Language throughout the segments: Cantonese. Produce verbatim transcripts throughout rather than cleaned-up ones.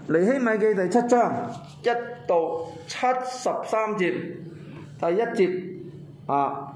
尼希米記第七章一到七十三節，第一節啊，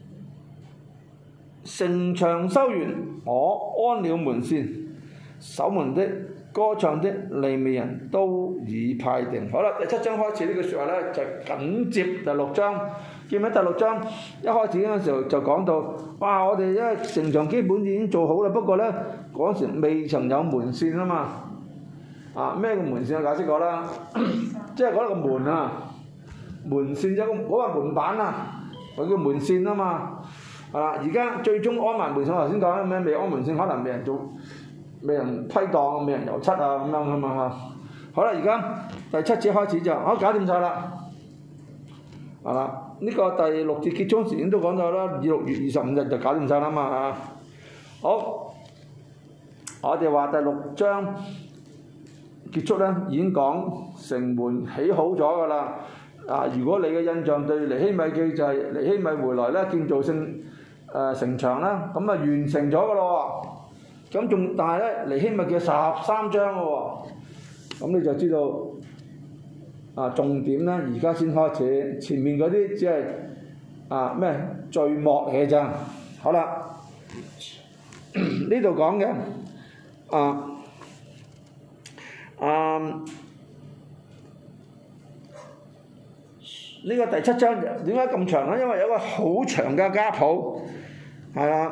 城牆修完，我安了門扇，守門的、歌唱的利未人都已派定。好啦，第七章開始呢句説話咧，就緊接第六章。見喺第六章一開始嗰陣時候就講到，哇！我哋因為城牆基本已經做好啦，不過咧嗰時未曾有門扇啊嘛。啊，咩叫門扇我解釋過啦，即係嗰個門啊，門扇即係嗰個門板啊，佢叫門扇啊嘛。係啦，而家最終安埋門扇，我頭先講咩未安門扇，可能未人做，未人批檔，未人油漆啊咁樣噶嘛嚇。好啦，而家第七節開始就，好搞掂晒啦。係啦。呢個第六節結束時已經都講咗啦，六月二十五日就搞掂晒啦嘛嚇。好，我哋話第六章結束咧，已經講城門起好咗㗎啦。啊，如果你嘅印象對尼希米記就係尼希米回來咧建造聖誒、呃、城牆啦，咁啊完成咗㗎咯喎。咁仲但係咧尼希米記十三章㗎喎，咁你就知道。啊，重點咧，而家先開始，前面嗰啲只係啊咩序幕嚟嘅咋。好啦，呢度講嘅啊啊呢、呢個第七章點解咁長咧？因為有一個好長嘅家譜，係啦。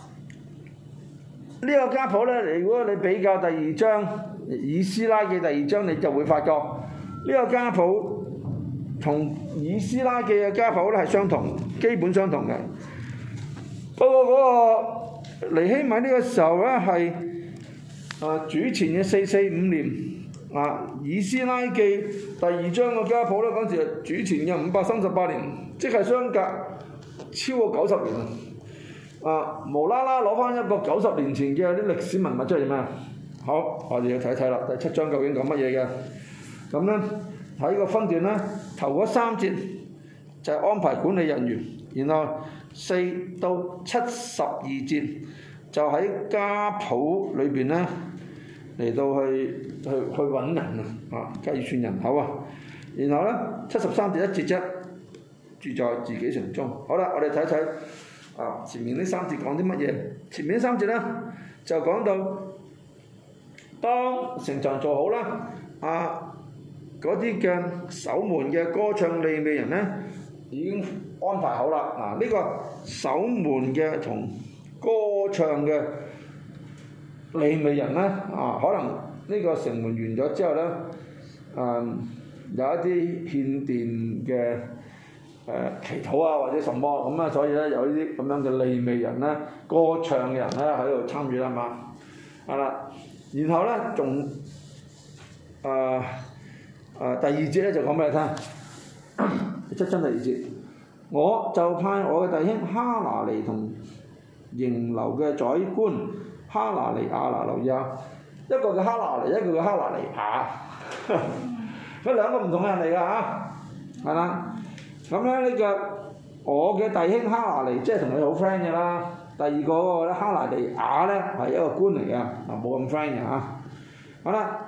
呢、呢個家譜咧，如果你比較第二章以斯拉嘅第二章，你就會發覺。呢個家譜同以斯拉記嘅家譜咧係相同，基本相同嘅。不過嗰個尼希米呢個時候咧係啊主前嘅四四五年啊，以斯拉記第二章嘅家譜咧嗰陣時係主前嘅五百三十八年，即係相隔超過九十年啊！無啦啦攞翻一個九十年前嘅啲歷史文物出嚟咩？好，我哋要睇睇啦，第七章究竟講乜嘢嘅？咁咧喺個分段咧，頭嗰三節就係安排管理人員，然後四到七十二節就喺家譜裏邊咧嚟到去去去揾人啊，計算人口啊，然後咧七十三節一節啫，住在自己城中。好啦，我哋睇睇啊前面呢三節講啲乜嘢？前面呢三節咧就講到當城牆做好啦，啊嗰啲嘅守門嘅歌唱利未人咧，已經安排好啦。嗱、啊，呢、這個守門嘅同歌唱嘅利未人咧，啊，可能呢個城門完咗之後咧，誒、啊、有一啲獻殿嘅誒祈禱啊，或者什麼咁啊，所以咧有呢啲咁樣嘅利未人咧，歌唱嘅人咧喺度參與啦嘛，係啦，然後咧仲誒。啊！第二節咧就講俾你聽，七章第二節，我就派我嘅弟兄哈拿尼同營樓嘅宰官哈拿尼亞拿留意下，一個叫哈拿尼，一個叫哈拿尼亞，佢兩個唔同嘅人嚟㗎嚇，係啦。咁咧呢個我嘅弟兄哈拿尼即係同佢好 friend 嘅啦，第二個嗰個咧哈拿尼亞咧係一個官嚟㗎，啊冇咁 friend 嘅嚇。好啦。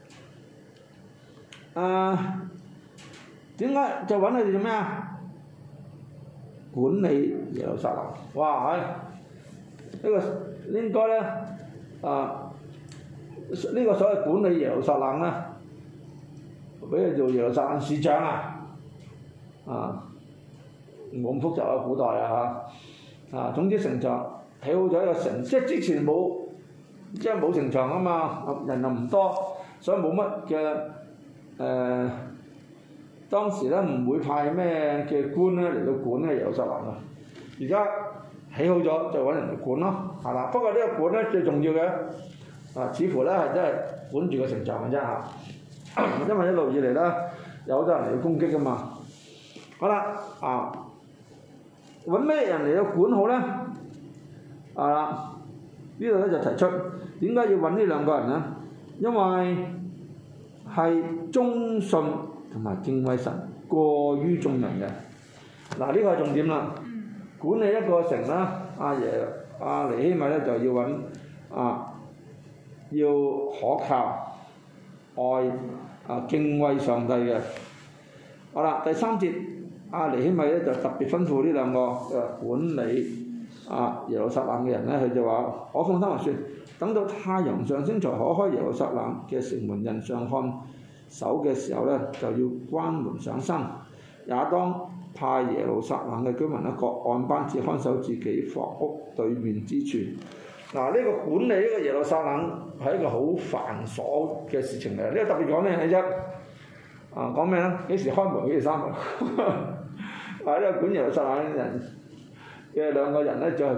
誒點解就揾佢哋做咩啊？管理耶路撒冷，哇係呢、這個應該咧啊呢、這個所謂管理耶路撒冷咧，俾佢做耶路撒冷市長啊，啊冇咁複雜啊，古代啊嚇啊，總之城牆起好咗一個城，即係之前冇即係冇城牆啊嘛，人又唔多，所以冇乜嘅。誒、呃、當時咧唔會派咩嘅官咧嚟到管咧耶路撒冷啊，而家起好咗就揾人嚟管咯，係啦。不過呢個管咧最重要嘅啊，似乎咧係真係管住個城牆嘅啫嚇，因為一路以嚟咧有好多人嚟到攻擊噶嘛。好啦，啊揾咩人嚟到管好咧？啊呢度咧就提出點解要揾呢兩個人咧？因為係忠信同埋敬畏神過於眾人嘅。嗱呢個係重點啦。管理一個城啦，阿爺阿尼希米咧就要揾啊，要可靠愛啊敬畏上帝嘅。好啦，第三節阿尼希米咧就特別吩咐呢兩個誒管理啊耶路撒冷嘅人咧，佢就話：我放心話説，等到太陽上升才可開耶路撒冷嘅城門，人上看守嘅時候咧，就要關門上身，也當派耶路撒冷嘅居民咧各按班次看守自己房屋對面之處。嗱、啊，呢、這個管理呢個耶路撒冷係一個好繁瑣嘅事情嚟。呢、這個特別講咩嘅啫？啊，講咩咧？幾時開門？幾時閂門？啊，呢、這個管耶路撒冷嘅人嘅兩個人咧，就係、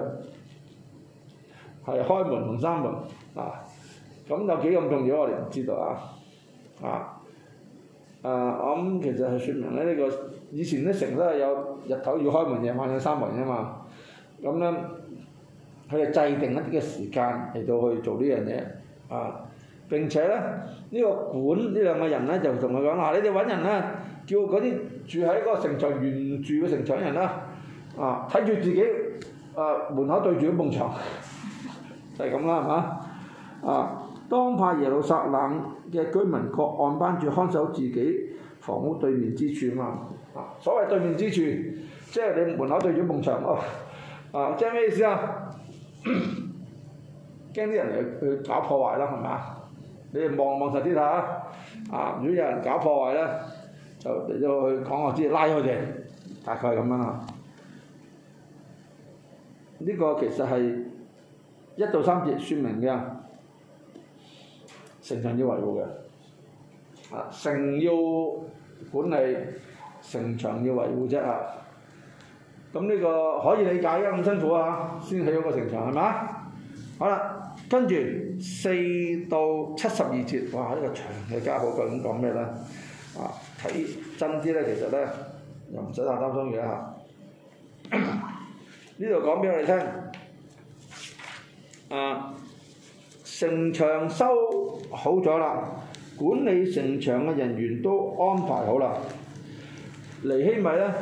係、開門同閂門啊。咁有幾咁重要，我哋唔知道啊。啊，誒、啊，我諗其實係説明咧，呢、這個以前啲城都係有日頭要開門，夜晚要閂門嘅嘛。咁咧。佢哋制定一啲嘅時間嚟到去做呢樣嘢，啊！並且咧，呢、這個管呢兩個人咧就同佢講話：你哋揾人咧，叫嗰啲住喺嗰個城牆原住嘅城牆人啦，啊，睇住自己啊門口對住一埲牆，就係咁啦，係嘛？啊，當派耶路撒冷嘅居民各按班住看守自己房屋對面之處嘛。啊，所謂對面之處，即係你門口對住一埲牆哦。啊，即係咩意思啊？驚啲人嚟去搞破壞啦，係咪啊？你哋望望實啲睇下，啊！如果有人搞破壞咧，就嚟咗去講我知，拉佢哋，大概係咁樣啦。呢、這個其實係一到三節説明嘅，城牆要維護嘅，啊，城要管理，城牆要維護啫啊！咁呢個可以理解嘅，咁辛苦啊，先起咗個城牆係嘛？好啦，跟住四到七十二節，哇！呢、這個長嘅家譜究竟講咩咧？啊，睇真啲咧，其實咧又唔使太擔心嘅嚇。呢度講俾我哋聽，啊，城牆修好咗啦，管理城牆嘅人員都安排好啦。尼希米咧。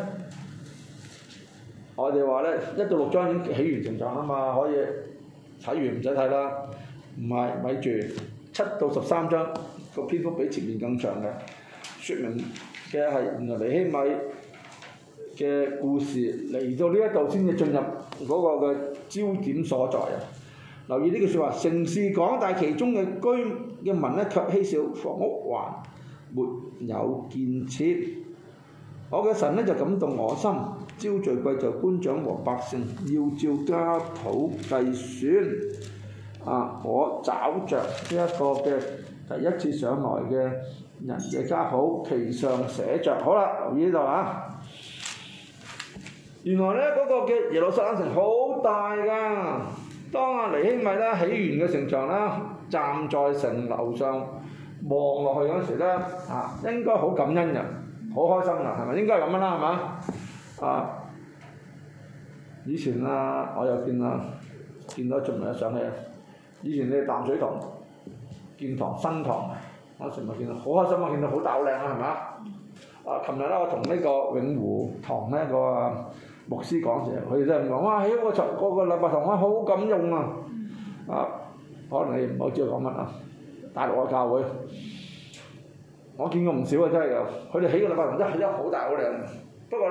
我哋話咧，一到六章已經起完城牆啊嘛，可以睇完唔使睇啦。唔係，咪住七到十三章個篇幅比前面更長嘅，説明嘅係原來尼希米嘅故事嚟到呢一度先至進入嗰個嘅焦點所在啊！留意呢句説話，城市廣大，其中嘅居嘅民咧卻稀少，房屋還沒有建設。我嘅神咧就感動我心。招聚貴冑官長和百姓，要照家譜計算。啊！我找着呢一個嘅第一次上來嘅人嘅家譜，其上寫着。好啦，留意呢度啊！原來咧嗰、那個嘅耶路撒冷城好大㗎。當阿尼希米咧起完嘅城牆啦，站在城樓上望落去嗰時咧，啊，應該好感恩嘅，好開心㗎，係咪？應該係咁樣啦，係嘛？啊！以前啊，我又見啊，見到仲未有上去。以前你哋淡水塘建堂新堂，我成日見到好開心啊！見到好大好靚啊，係咪啊？啊！琴日咧，我同呢個永湖堂呢個牧師講時，佢哋都係講：哇！起個場個個禮拜堂啊，好感用啊！啊，可能你唔好知道講乜啊？大陸嘅教會，我見過唔少啊，真係㗎。佢哋起個禮拜堂真係起得好大好靚。不過咧，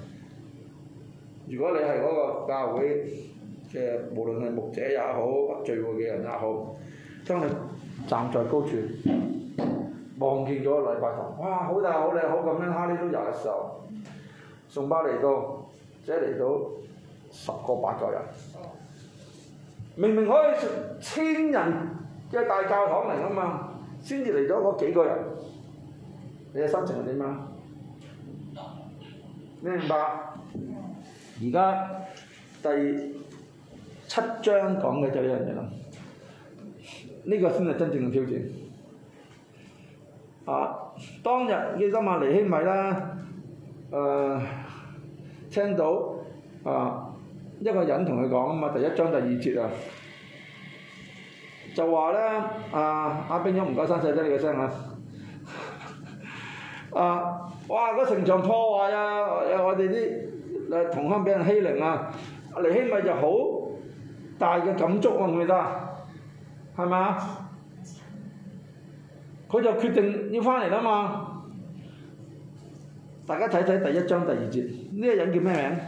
如果你係嗰個教會嘅，無論係牧者也好，聚會嘅人也好，當你站在高處望見咗個禮拜堂，哇！好大好靚，好感恩哈利路亞嘅時候，崇拜嚟到，即係嚟到十個八個人，明明可以千人嘅大教堂嚟㗎嘛，先至嚟咗嗰幾個人，你嘅心情係點啊？你明白？而家第七章講嘅就一樣嘢啦，呢、這個先係真正嘅挑戰。啊，當日記得嘛，尼希米啦，誒、呃，聽到啊一個人同佢講啊嘛，第一章第二節啊，就話咧啊，阿兵勇唔該刪細啲你嘅聲啊，啊！哇！嗰城牆破壞啊！我哋啲誒同鄉俾人欺凌啊！尼希米就好大嘅感觸喎，記唔記得？係咪啊？ 佢就決定要翻嚟啦嘛。大家睇睇第一章第二節，呢、這個人叫咩名？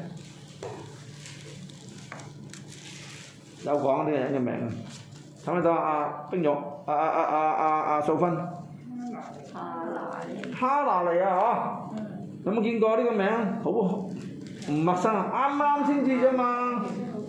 有講呢個人嘅名，睇唔睇到啊？冰玉，啊啊啊啊啊啊素芬， 哈拿利， 哈拿利啊嗬，有冇見過呢個名？好唔陌生啊，啱啱先知啫嘛。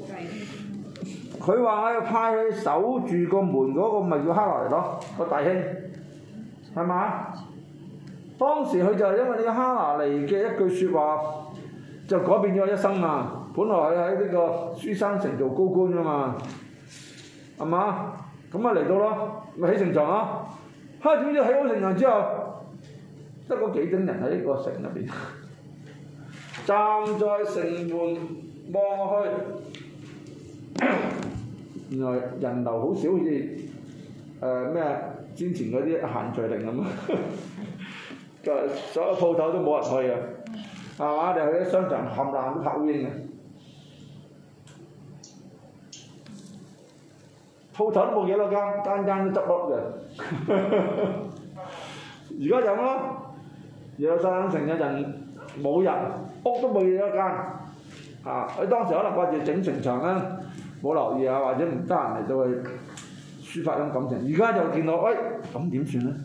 佢話佢派佢守住個門嗰個咪叫哈拿利咯，個弟兄，係嘛？當時佢就係因為呢個哈拿利嘅一句説話，就改變咗一生啊！本來佢喺呢個書珊城做高官噶嘛，係嘛？咁啊嚟到咯，咪起城牆咯。哈！點知起好城牆之後，得嗰幾丁人喺呢個城入邊，站在城門望落去，原來人流好少，好似誒咩之前嗰啲限聚令咁啊！就所有鋪頭都冇人去啊，係嘛？你去啲商場冚唪唥都拍烏蠅嘅。鋪頭都冇幾多間，間間都執笠嘅。而家就咁咯，耶路撒冷城嘅人冇人，屋都冇幾多間。啊！佢當時可能掛住整城牆啦，冇留意啊，或者唔得閒嚟到去抒發種感情。而家就見到，喂，咁點算咧？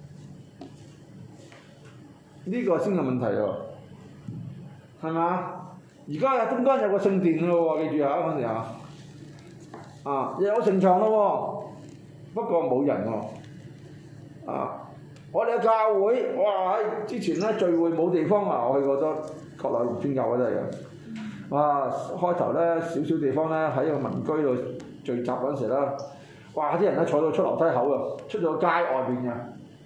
呢、這個先係問題喎，係嘛？而家啊，中間有個聖殿咯喎，記住下嗰陣時啊。啊！又有城牆咯喎，不過冇人喎。啊！我哋嘅教會，哇！喺之前咧聚會冇地方啊，我去過咗國內農村教會都係嘅。哇！開頭咧少少地方咧喺個民居度聚集嗰陣時咧，哇！啲人咧坐到出樓梯口啊，出咗街外邊嘅。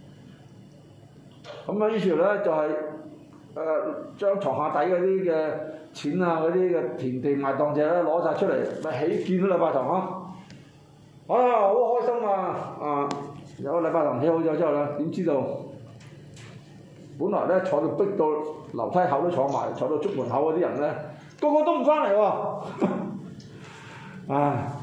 咁啊，於是咧就係、是、誒、呃、將床下底嗰啲嘅錢啊，嗰啲嘅田地賣當者咧攞晒出嚟，咪起建咗禮拜堂咯。啊，好開心啊！啊，有個禮拜堂起好咗之後咧，點知道本來咧坐到逼到樓梯口都坐埋，坐到出門口嗰啲人咧，個個都唔翻嚟喎。唉，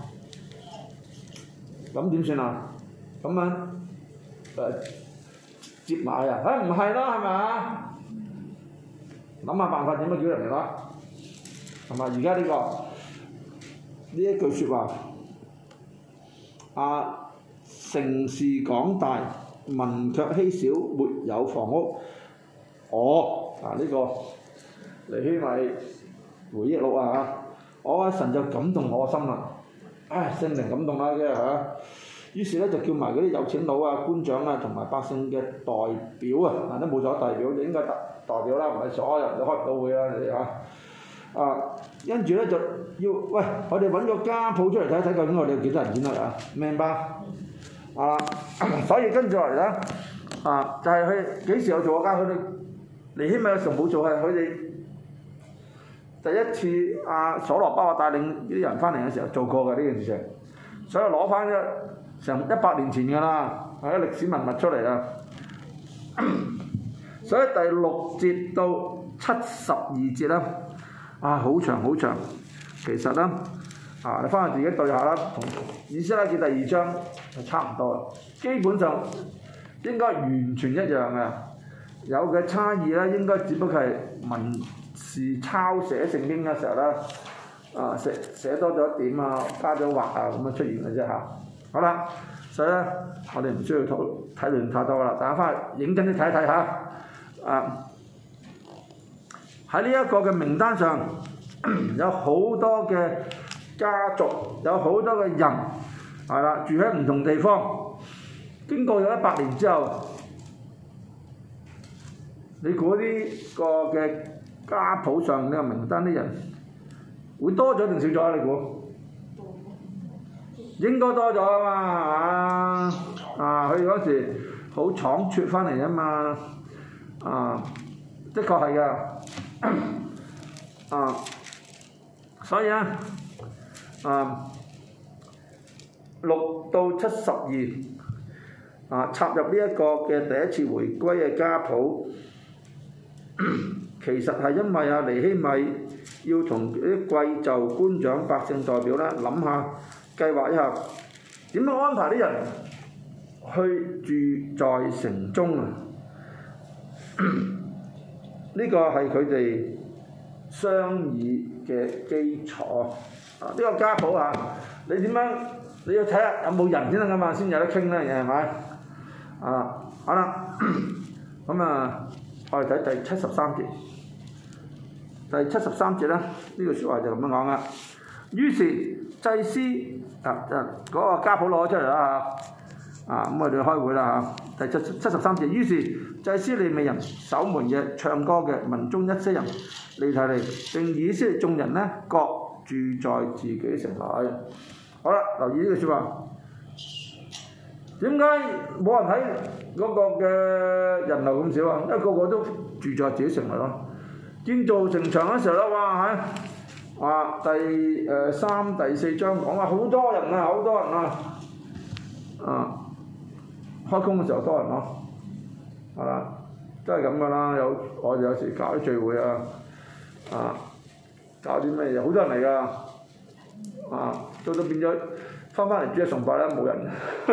咁點算啊？咁樣誒？呃接埋啊！唉，唔係啦，係咪啊？諗下辦法點樣叫人嚟啦？係咪？而家呢個呢一句説話，啊，城市廣大，民卻稀少，沒有房屋。我啊呢、這個尼希米回憶錄啊嚇，我阿神就感動我心啦。唉，聖靈感動啦，嘅嚇。於是咧就叫埋嗰啲有錢佬啊、官長啊同埋百姓嘅代表啊，都冇咗代表，就應該代代表啦，唔係所有人都開唔到會啦，你哋嚇。啊，跟住咧就要喂，我哋揾個家譜出嚟睇睇，究竟我哋有幾多人錢啊？明白？啊，所以跟住落嚟咧，啊就係佢幾時有做過家譜？佢哋尼希米嘅時候冇做，係佢哋第一次阿所羅巴伯帶領啲人翻嚟嘅時候做過嘅呢件事情，所以攞翻咗成一百年前㗎啦，係啲歷史文物出嚟啦。所以第六節到七十二節啦，啊好長好長，其實咧啊你翻去自己對下啦，同以斯拉記第二章係差唔多，基本上應該完全一樣嘅，有嘅差異咧應該只不過係文字抄寫聖經嘅時候咧，啊寫寫多咗一點啊，加咗畫啊咁樣出現嘅啫嚇。好啦，所以咧，我哋唔需要討睇論太多啦，大家翻去認真啲睇一睇下。啊，喺呢一個嘅名單上，有好多嘅家族，有好多嘅人，係啦，住喺唔同地方。經過咗一百年之後，你估呢個嘅家譜上呢個名單啲人會多咗定少咗啊？你估？應該多咗啊嘛，啊！佢嗰時好倉促翻嚟啊嘛，啊，的確係㗎，啊，所以咧，啊，六到七十二，啊，插入呢一個嘅第一次回歸嘅家譜，其實係因為啊尼希米要同啲貴胄、官長、百姓代表咧諗下。計劃一下點樣安排啲人去住在城中啊！呢個係佢哋商議嘅基礎啊！呢、這個家譜啊，你點樣？你要睇下有冇人先得噶嘛，先有得傾咧，係咪？啊，好啦，咁啊，我哋睇第七十三節。第七十三節咧，呢句説話就咁樣講啦。於是祭司啊啊嗰、那個家譜攞出嚟啦嚇，啊咁我哋開會啦嚇。第七七十三節，於是祭司利未人、守門嘅、唱歌嘅、民中一些人離題嚟，並以色列眾人咧各住在自己城內。好啦，留意呢句説話。點解冇人睇嗰個嘅人流咁少啊？因為個個都住在自己城內咯。建造城牆嗰時候咧，哇喺哇第誒、呃、三第四章講話好多人啊，好多人啊，啊開工嘅時候多人咯，係啦，都係咁噶啦。有我哋有時搞啲聚會啊，啊搞啲咩嘢，好多人嚟噶，啊到到變咗翻返嚟主日崇拜咧冇人，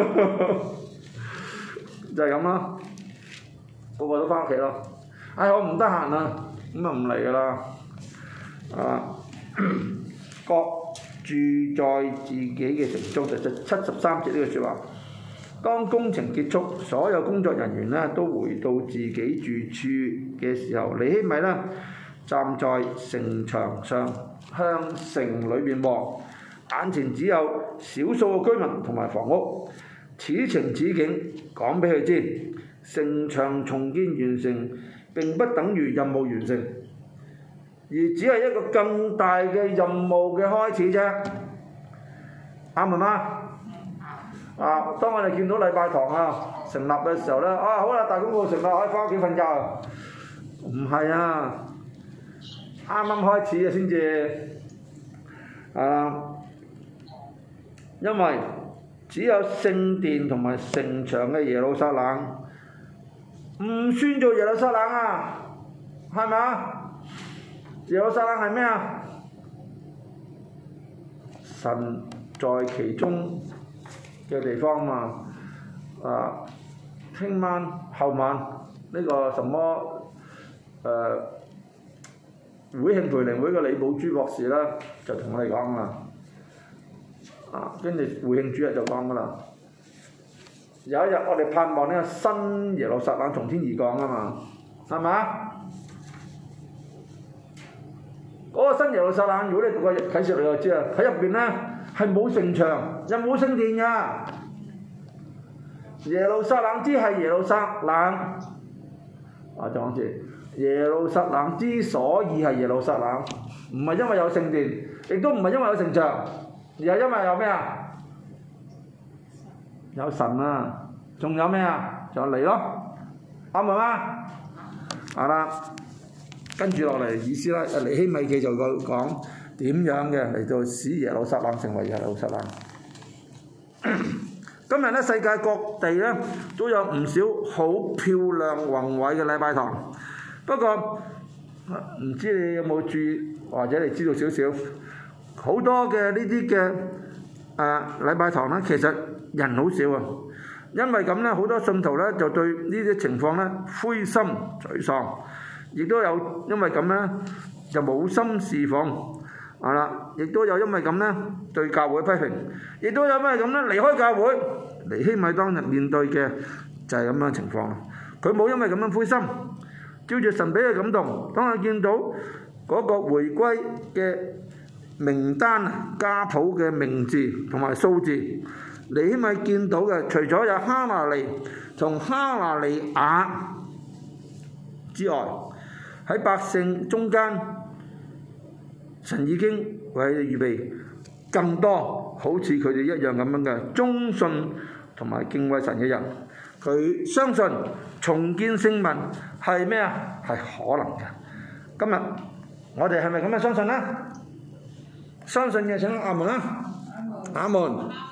就係咁啦，個個都翻屋企咯。唉，我唔得閒啊！咁啊唔嚟噶啦，啊，各住在自己嘅城中，就就七十三節呢句説話。當工程結束，所有工作人員咧都回到自己住處嘅時候，尼希米咧站在城牆上向城裏邊望，眼前只有少數嘅居民同埋房屋。此情此景講俾佢知，城牆重建完成並不等於任務完成，而只係一個更大嘅任務嘅開始啫。啱唔啱？啊！當我哋見到禮拜堂啊成立嘅時候咧，啊好啦，大公告成立，可以翻屋企瞓覺。唔係啊，啱啱開始啊先至啊，因為只有聖殿同埋城牆嘅耶路撒冷。唔算做耶路撒冷啊，係咪啊？耶路撒冷係咩啊？神在其中嘅地方嘛。啊，聽晚後晚呢、這個什麼誒、呃、會慶培靈會嘅李寶珠博士咧，就同我哋講啦。啊，跟住會慶主日就講噶啦。有一日我哋盼望呢個新耶路撒冷從天而降啊嘛，係咪啊？嗰個新耶路撒冷，如果你讀過啟示錄就知啦，喺入邊咧係冇城牆，又冇聖殿噶。耶路撒冷之係耶路撒冷，啊再講一次，耶路撒冷之所以係耶路撒冷，唔係因為有聖殿，亦都唔係因為有城牆，而係因為有咩啊？有神啊，仲有咩啊？就嚟咯，啱唔啱？係啦，跟住落嚟意思啦，尼希米記就講點樣嘅嚟到使耶路撒冷成為耶路撒冷。今日咧，世界各地咧都有唔少好漂亮宏偉嘅禮拜堂，不過唔知你有冇注意，或者你知道少少，好多嘅呢啲嘅誒禮拜堂咧，其實人好少啊，因為咁咧，好多信徒咧就對呢啲情況咧灰心沮喪，亦都有因為咁咧就冇心侍奉，係啦，亦都有因為咁咧對教會批評，亦都有因為咁咧離開教會。尼希米當日面對嘅就係咁樣情況，佢冇因為咁樣灰心，照住神俾佢感動，當佢見到嗰個回歸嘅名單、家譜嘅名字同埋數字，尼希米見到嘅除咗有哈拿尼同哈拿尼雅之外，喺百姓中間，神已經為佢哋預備更多好似佢哋一樣咁樣嘅忠信同埋敬畏神嘅人。佢相信重建聖民係咩啊？係可能嘅。今日我哋係咪咁樣相信呢？相信嘅請阿門啦，阿門。